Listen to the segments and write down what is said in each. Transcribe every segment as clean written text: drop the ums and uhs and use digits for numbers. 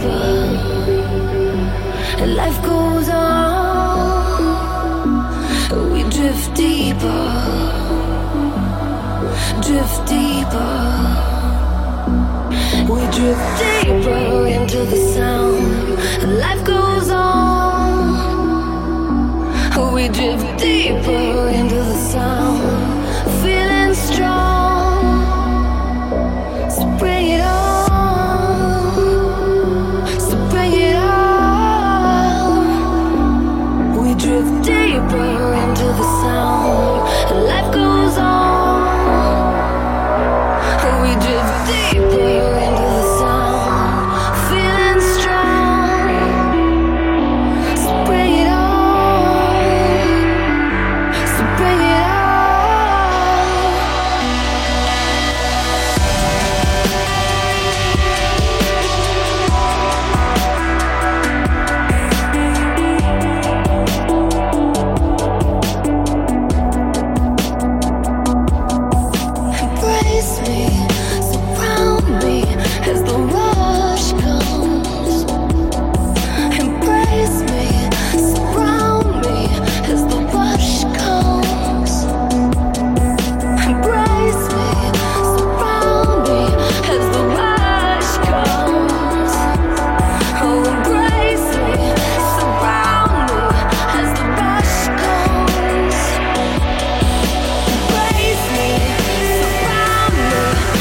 Surround me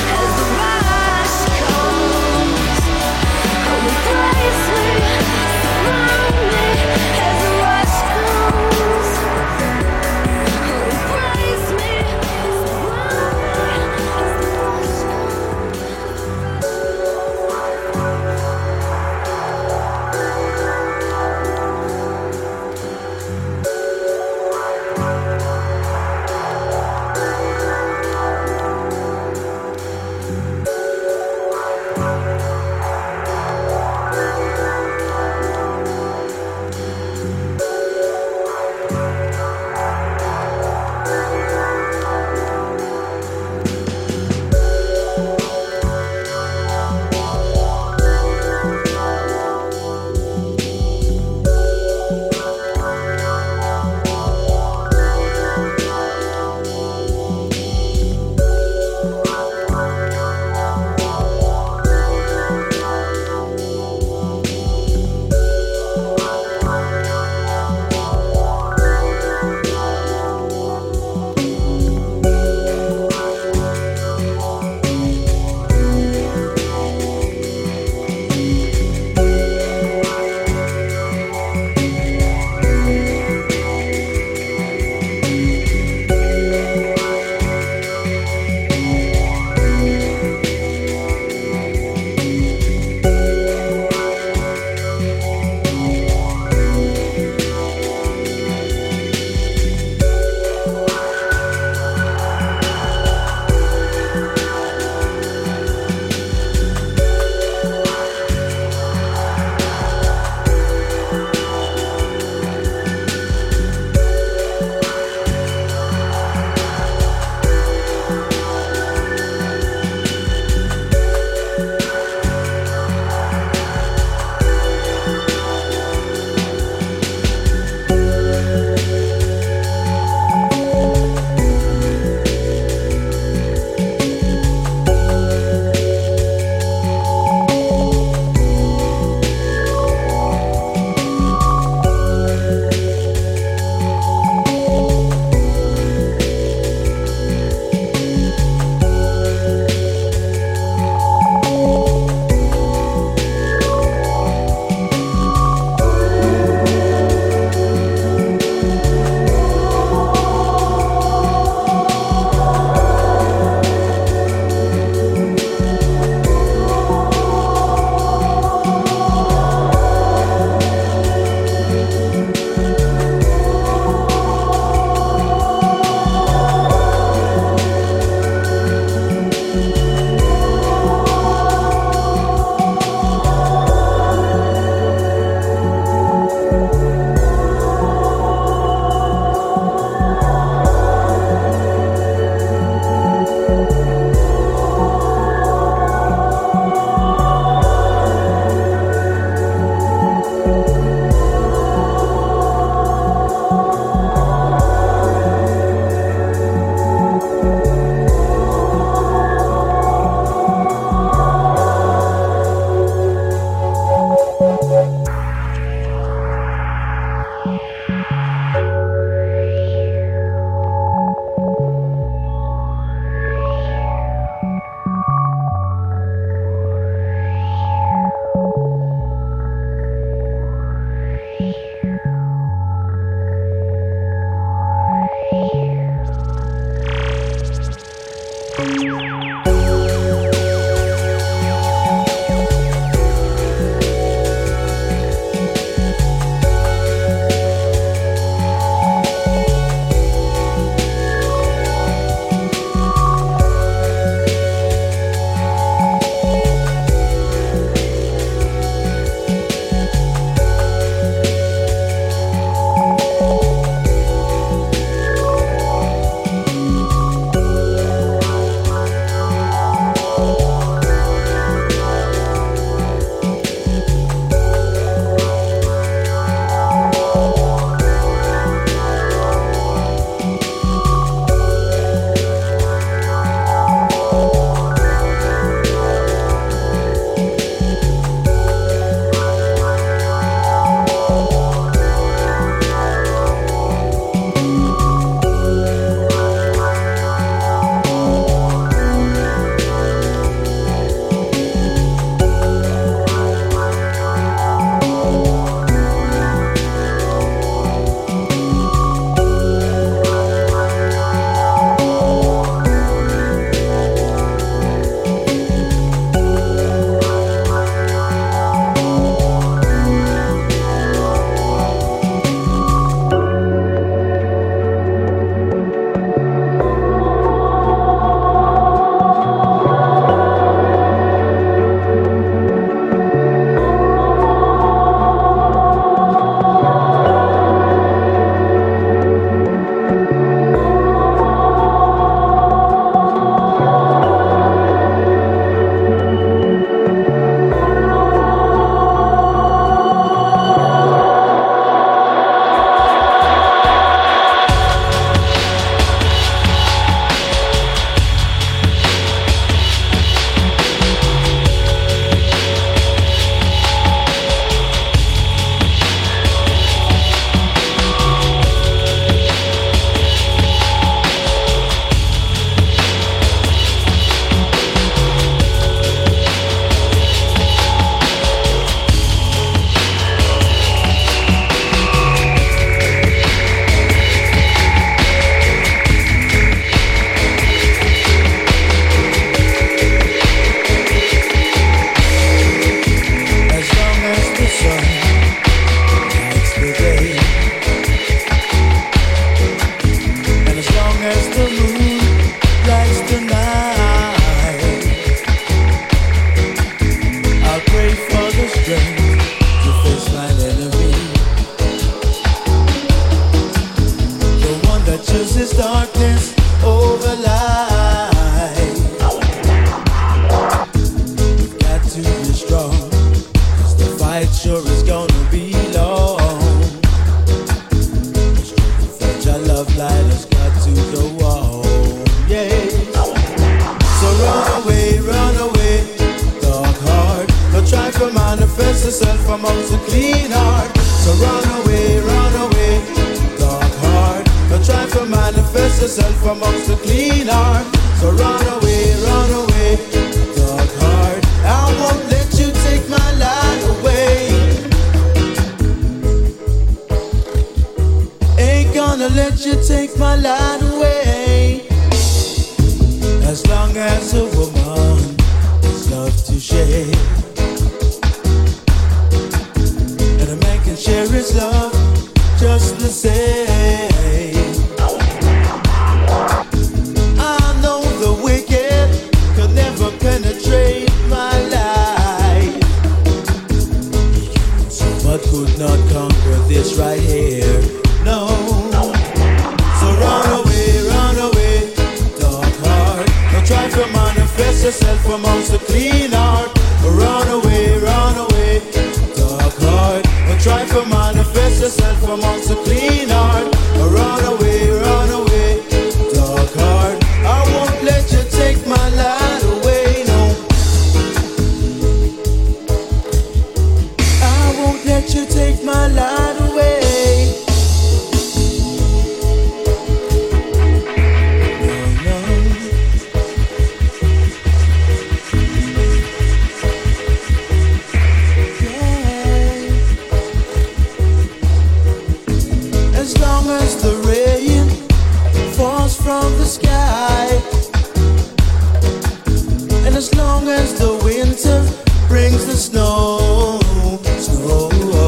as long as the winter brings the snow, snow.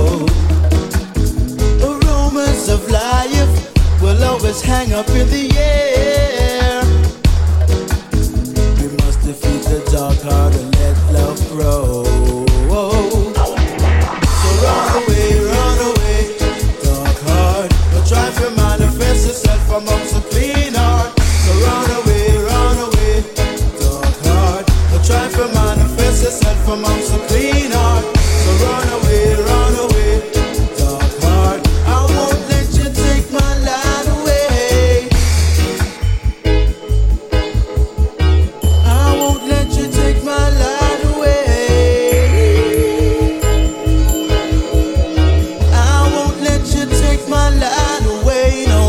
Aromas of life will always hang up in the air. We must defeat the dark heart and let love grow. So run away, dark heart. Don't try to manifest yourself amongst a clean heart. So run away, dark heart. Don't try to manifest yourself amongst a clean heart. So run away, dark heart. I won't let you take my light away. I won't let you take my light away. I won't let you take my light away, no.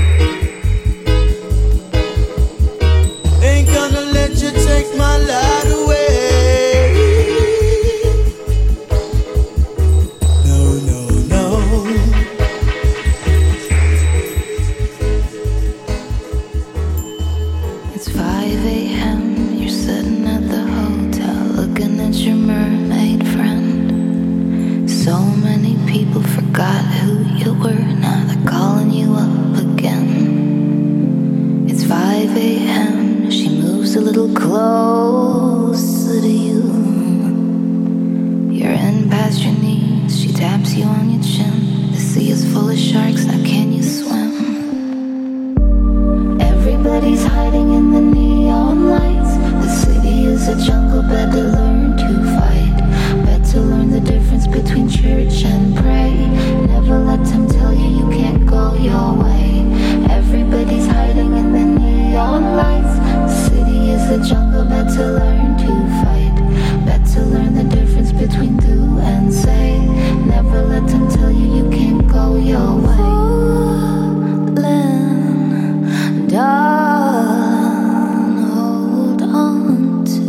Ain't gonna let you take my light away. No, no, no. It's 5 a.m. You're sitting at the hotel looking at your mermaid friend. So many people forgot who you were. Now they're calling you up again. It's 5 a.m. She moves a little closer to you. You're in past your knees. She taps you on your chin. The sea is full of sharks. Now can you swim? Everybody's hiding in the neon lights. The city is a jungle, better learn to fight. Better learn the difference between church and pray. Never let them tell you you can't go your way. Everybody's hiding in the neon lights. The city is a jungle, better learn to fight. Better learn the difference between do and say. Never let them tell you you can't go your way. Darling, hold on to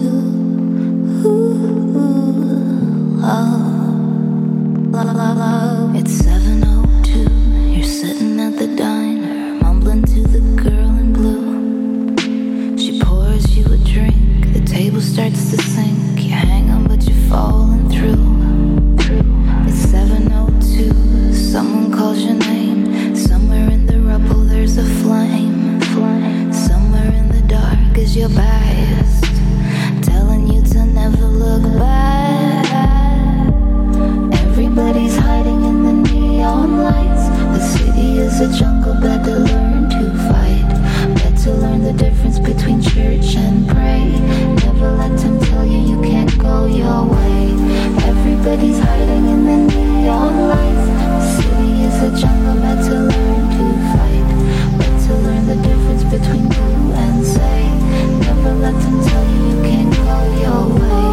love. It's 7:02. You're sitting at the diner, mumbling to the girl in blue. She pours you a drink. The table starts to sink. You hang on, but you're falling through. It's 7:02. Someone calls your name. Somewhere in the rubble, there's a flame. Somewhere in the dark is your past, telling you to never look back. Everybody's hiding in the neon lights. The city is a jungle, better learn to fight. Better learn the difference between church and pray. Never let them tell you you can't go your way. Everybody's hiding in the neon lights. The city is a jungle, better learn to fight. Better learn the difference between do and say. Never let them tell you you can't go your way.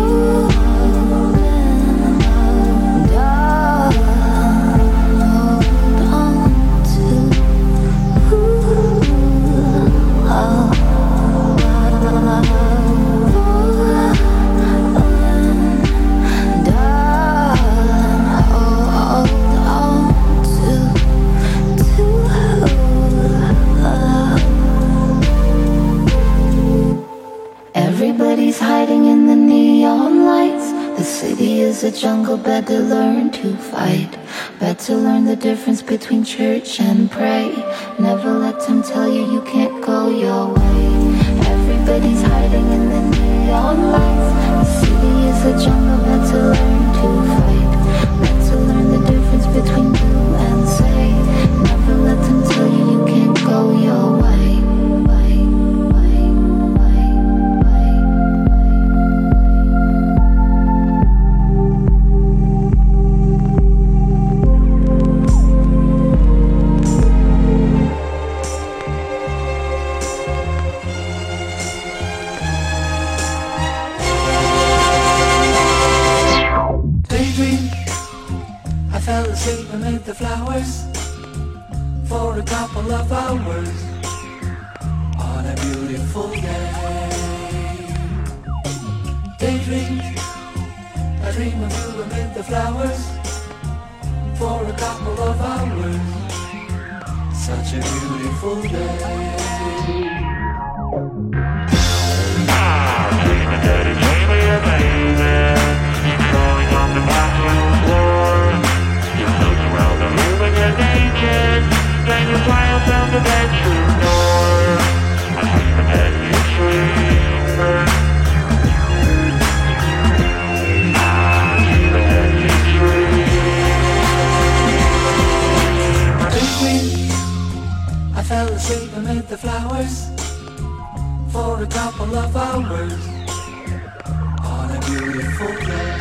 Everybody's hiding in the neon lights. The city is a jungle, better learn to fight. Better learn the difference between church and pray. Never let them tell you you can't go your way. Everybody's hiding in the neon lights. The city is a jungle, better learn to fight. Better learn the difference between do and say. Never let them tell you you can't go your way. Amid the flowers for a couple of hours on a beautiful day. Daydream, I dream of you amid the flowers for a couple of hours. Such a beautiful day. beautiful day.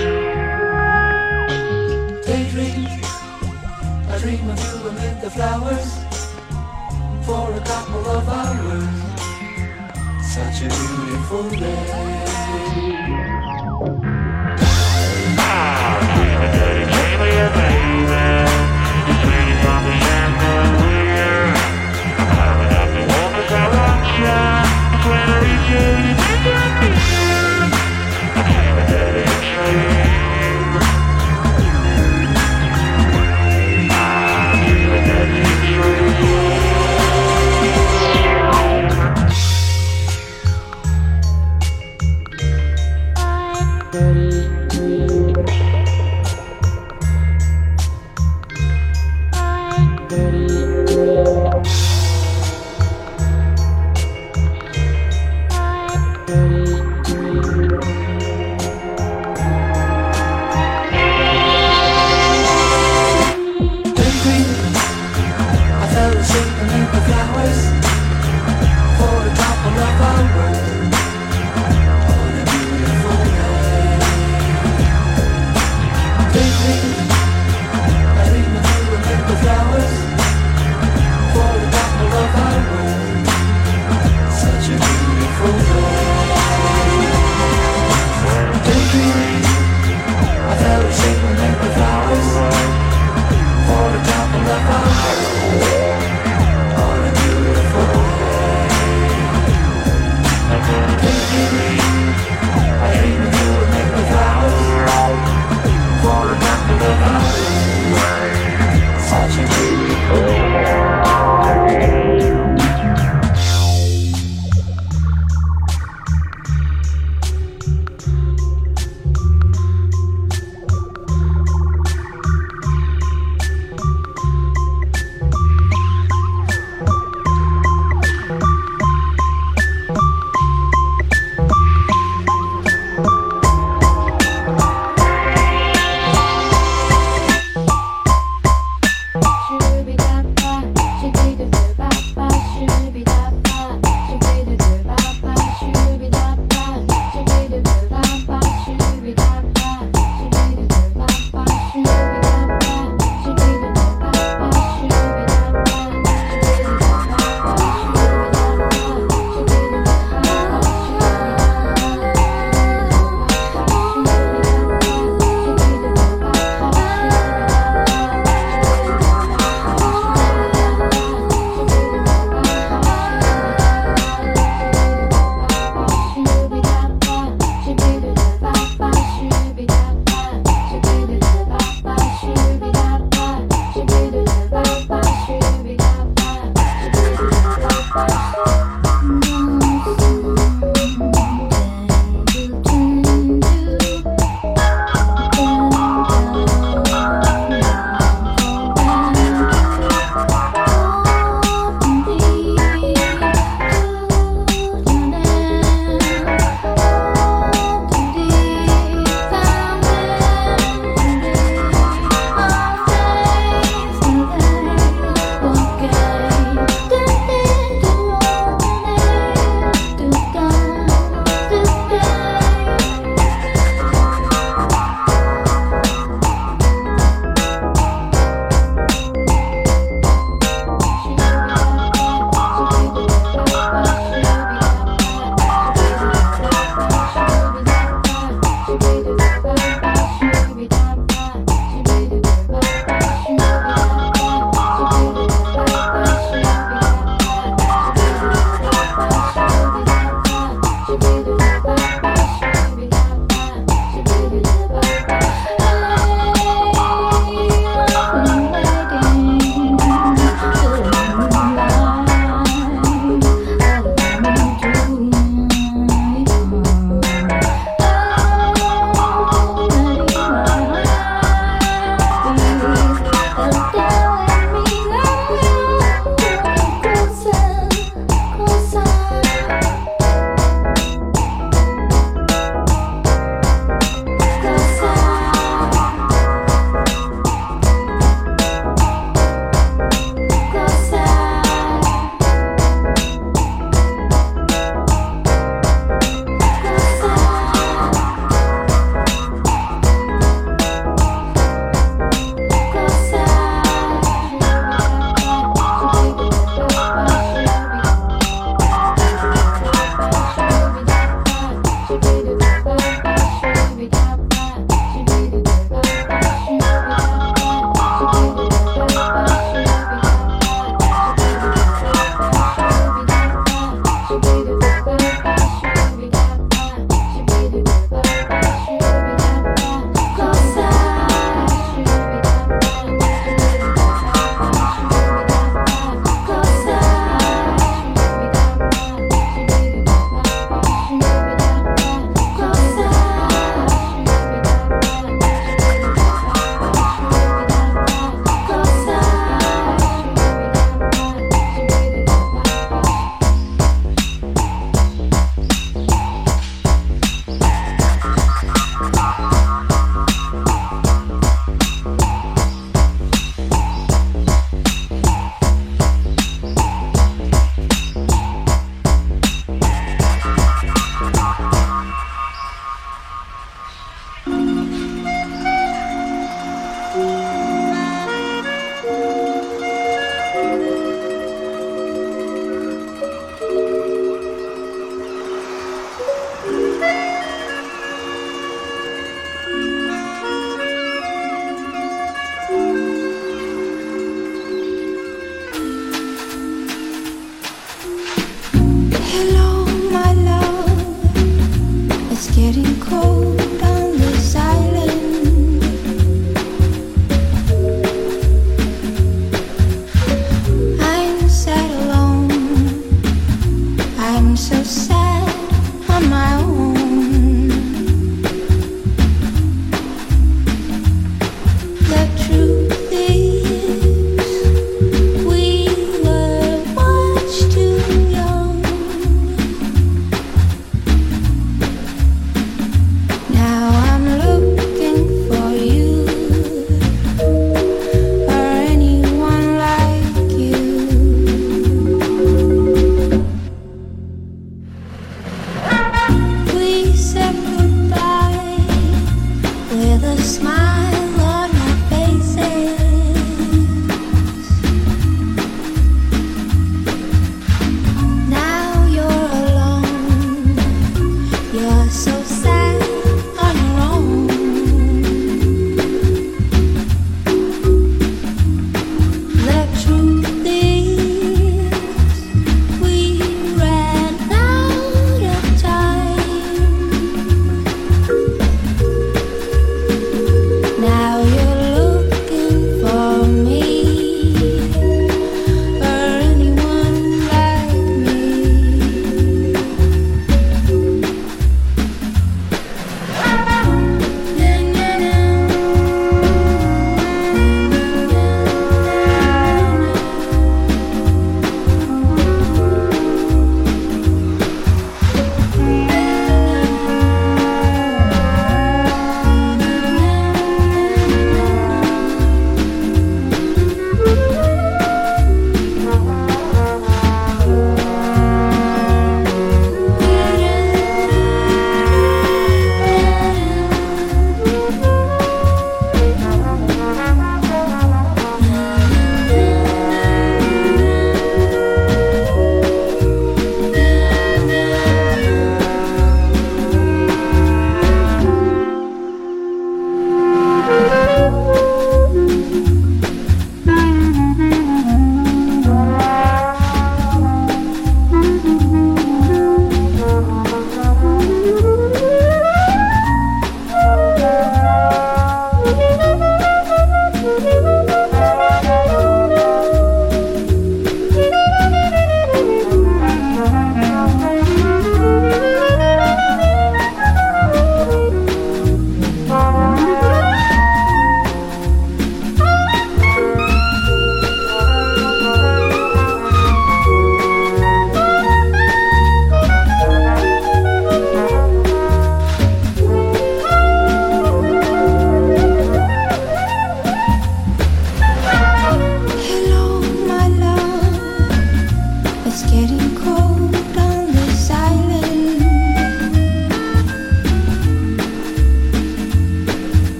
Daydream, I dream of you amid the flowers for a couple of hours. Such a beautiful day.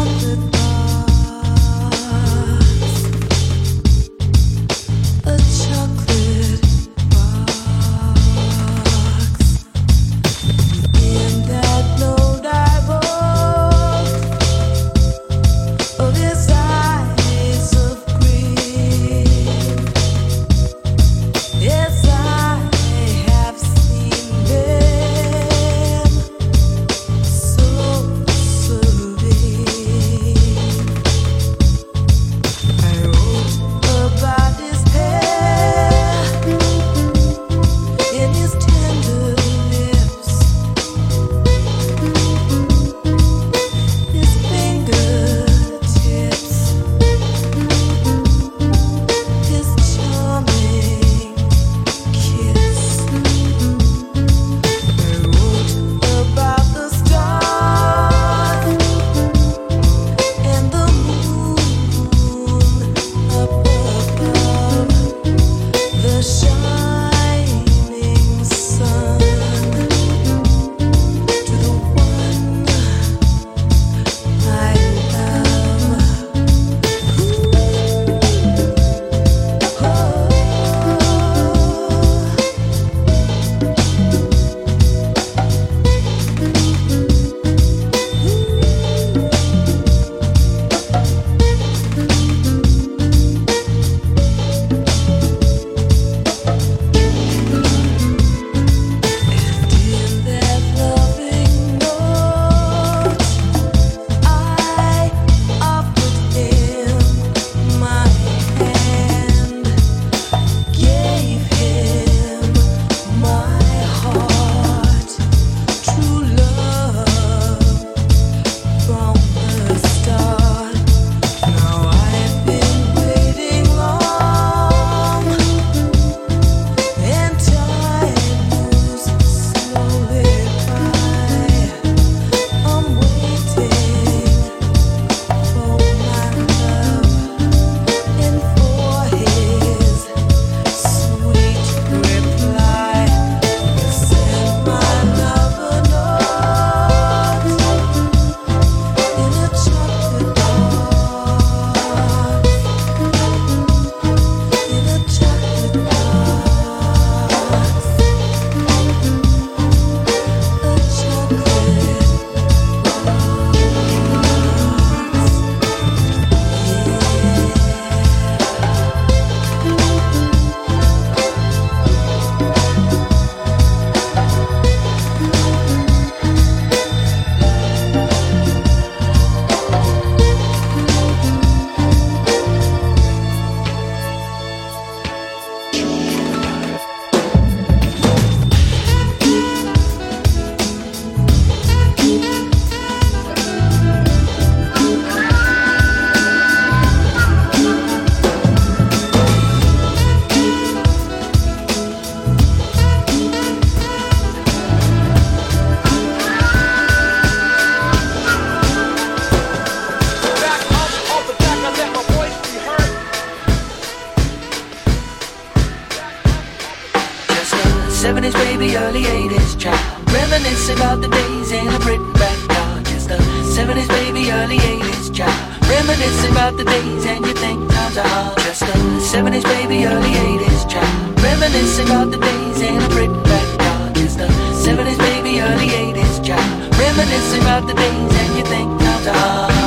70s, baby, early 80s child. Reminisce about the days in a Britain backyard. Just the 70s, baby, early 80s child. Reminisce about the days and you think times are hard. Just the 70s, baby, early 80s child. Reminisce about the days in a Britain backyard. Just the 70s, baby, early 80s child. Reminisce about the days and you think times are hard.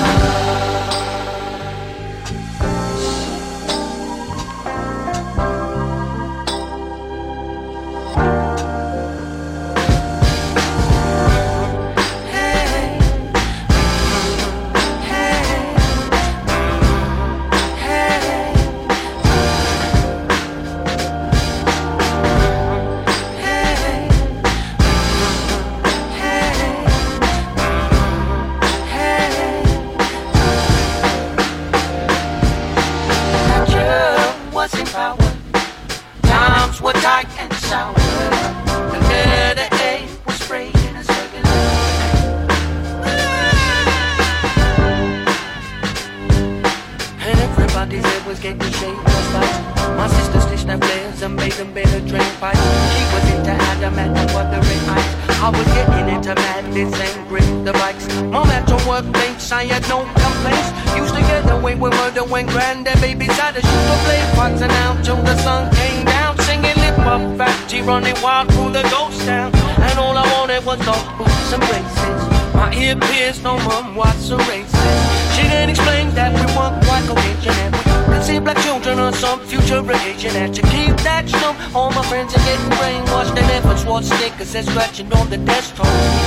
was getting shaved just like my sister stitched her flares and made them better drain pipes. She was into adamant and wuthering ice. I was getting into madness and grip the bikes. Mom had to work late, I had no complaints. Used to get away with murder when granddad babies had to shoot the blade boxing out till the sun came down. Singing lip up factory, running wild through the ghost town. And all I wanted was those boots and braces. My ear pierced, no mom watched the races. She didn't explain that we weren't quite cohesion, and we could see black children on some future occasion. Had to keep that stum. All my friends are getting brainwashed, and never swore stickers and scratching on the desktop.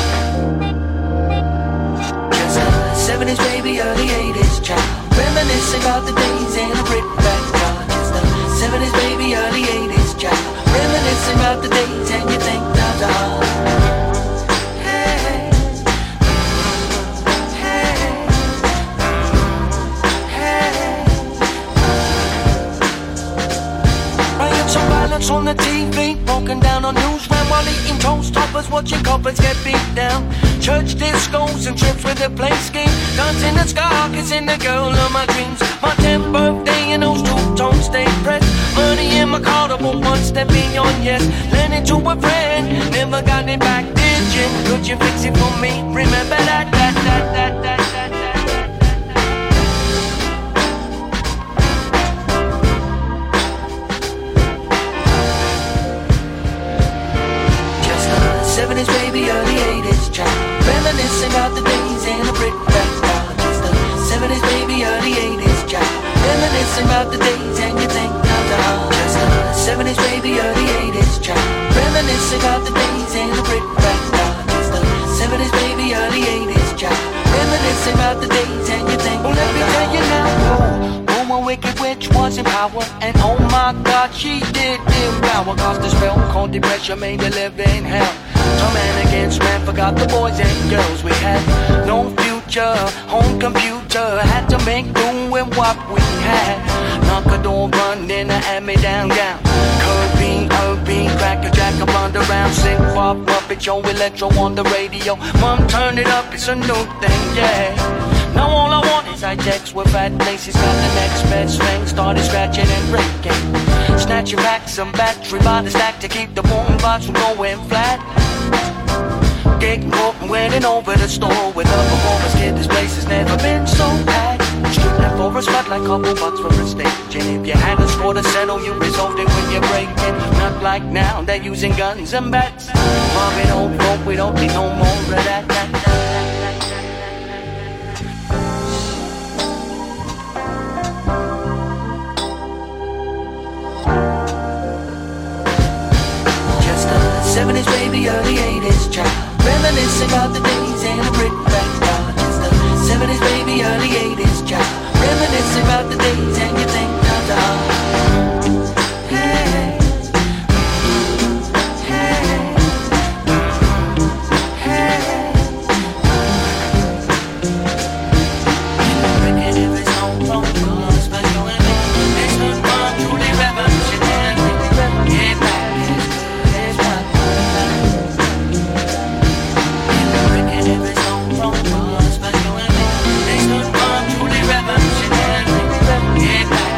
Just a 70s baby, early 80s child, reminiscing about the days in a brick backyard. Just a 70s baby, early 80s child, reminiscing about the days and you think times are hard. On the TV, broken down on newsround while eating toast toppers, watching couples get beat down. Church discos and trips with the play scheme. Guns in the sky, kissing the girl of my dreams. My 10th birthday and those two-tone stay pressed. Money in my car, but one step beyond yes. Lend it to a friend, never got it back, did you? Could you fix it for me? Remember that. Baby, early 80s child, reminiscing about the days in a brick backyard. Just the 70s, baby, early 80s child, reminiscing about the days and you think times are hard. Just the 70s, baby, early 80s child, reminiscing about the days in a brick backyard. Just the 70s, baby, early 80s child, reminiscing about the days and you think. Well, let me tell you now, a wicked witch was in power, and oh my God, she did devour. Cause the spell called depression made a living hell. So man against man, forgot the boys and girls. We had no future, home computer, had to make do with what we had. Knock a door, run in a hand-me-down gown. Kirby, crack a jack, a blunder around. Sing pop, Muppet Show, electro on the radio. Mom, turn it up, it's a new thing, yeah. Now all I want is high-techs with fat laces. Got the next best thing, started scratching and breaking. Snatching back some battery by the stack to keep the boombox from going flat. Getting broke and winning over the store with a performance kid. This place has never been so packed. Stripping for a spot like couple bucks for a stage. And if you had a score to settle, you resolved it when you're breaking. Not like now, they're using guns and bats. Mom, we don't broke, we don't need no more of that. Just a 70s baby, early 80s child, reminiscing about the days in a brick backyard. Just the 70s baby, early 80s child, reminiscing about the days and you think times are hard. Hey. Get back.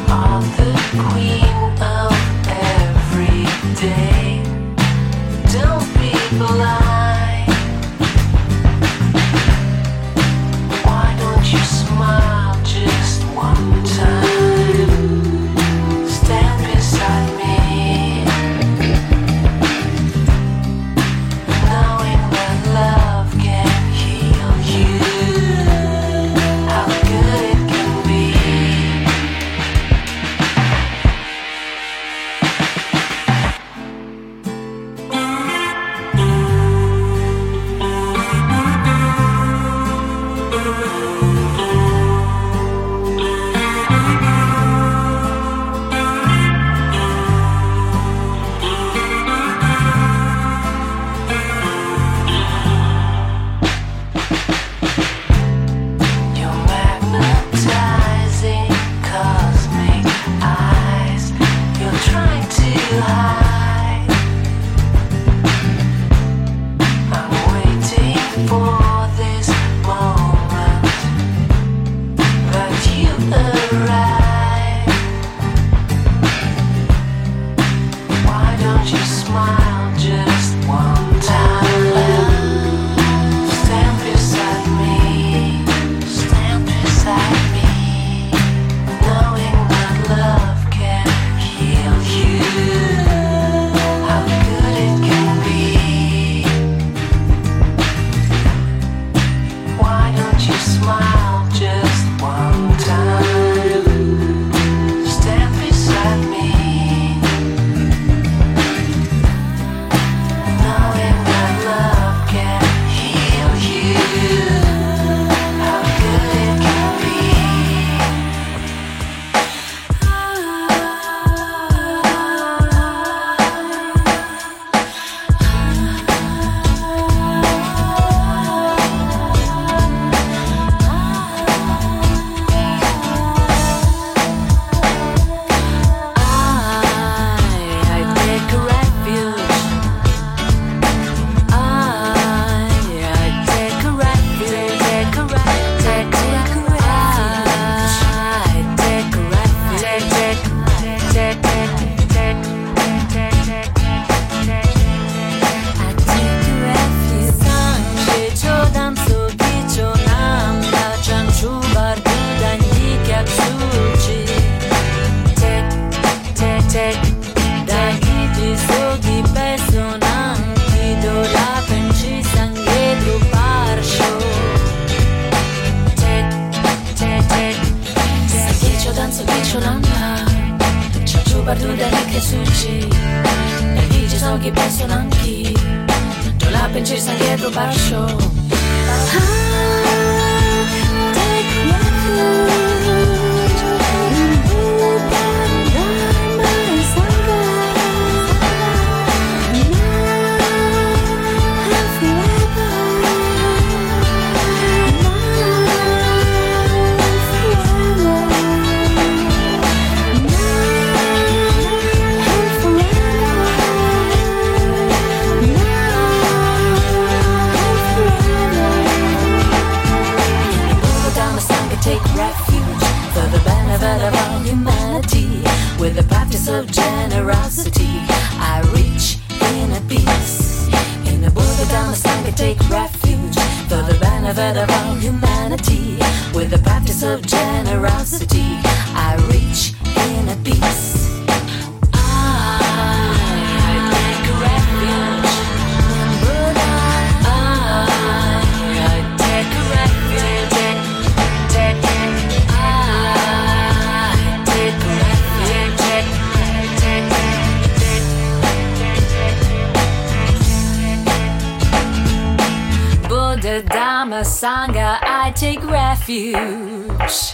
Sangha, I take refuge.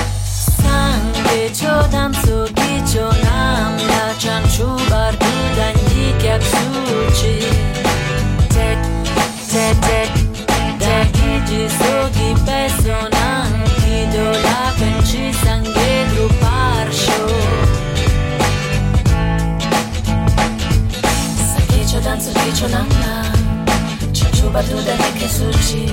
Sangue chodan sogi chonam la chanchu bardu danyi kya suchi. Tek tek tek dagi sogi personam kido la penchi sangue dru parsho. Sangue chodan sogi chonam la chanchu bardu danyi kya suchi.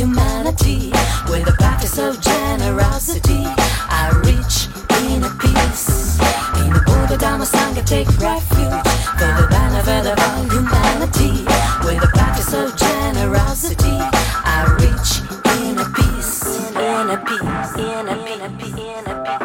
humanity. With a practice of generosity, I reach inner peace. In the Buddha Dhamma Sangha take refuge for the benefit of all humanity. With a practice of generosity, I reach inner peace. Inner peace, inner peace, inner peace, inner peace.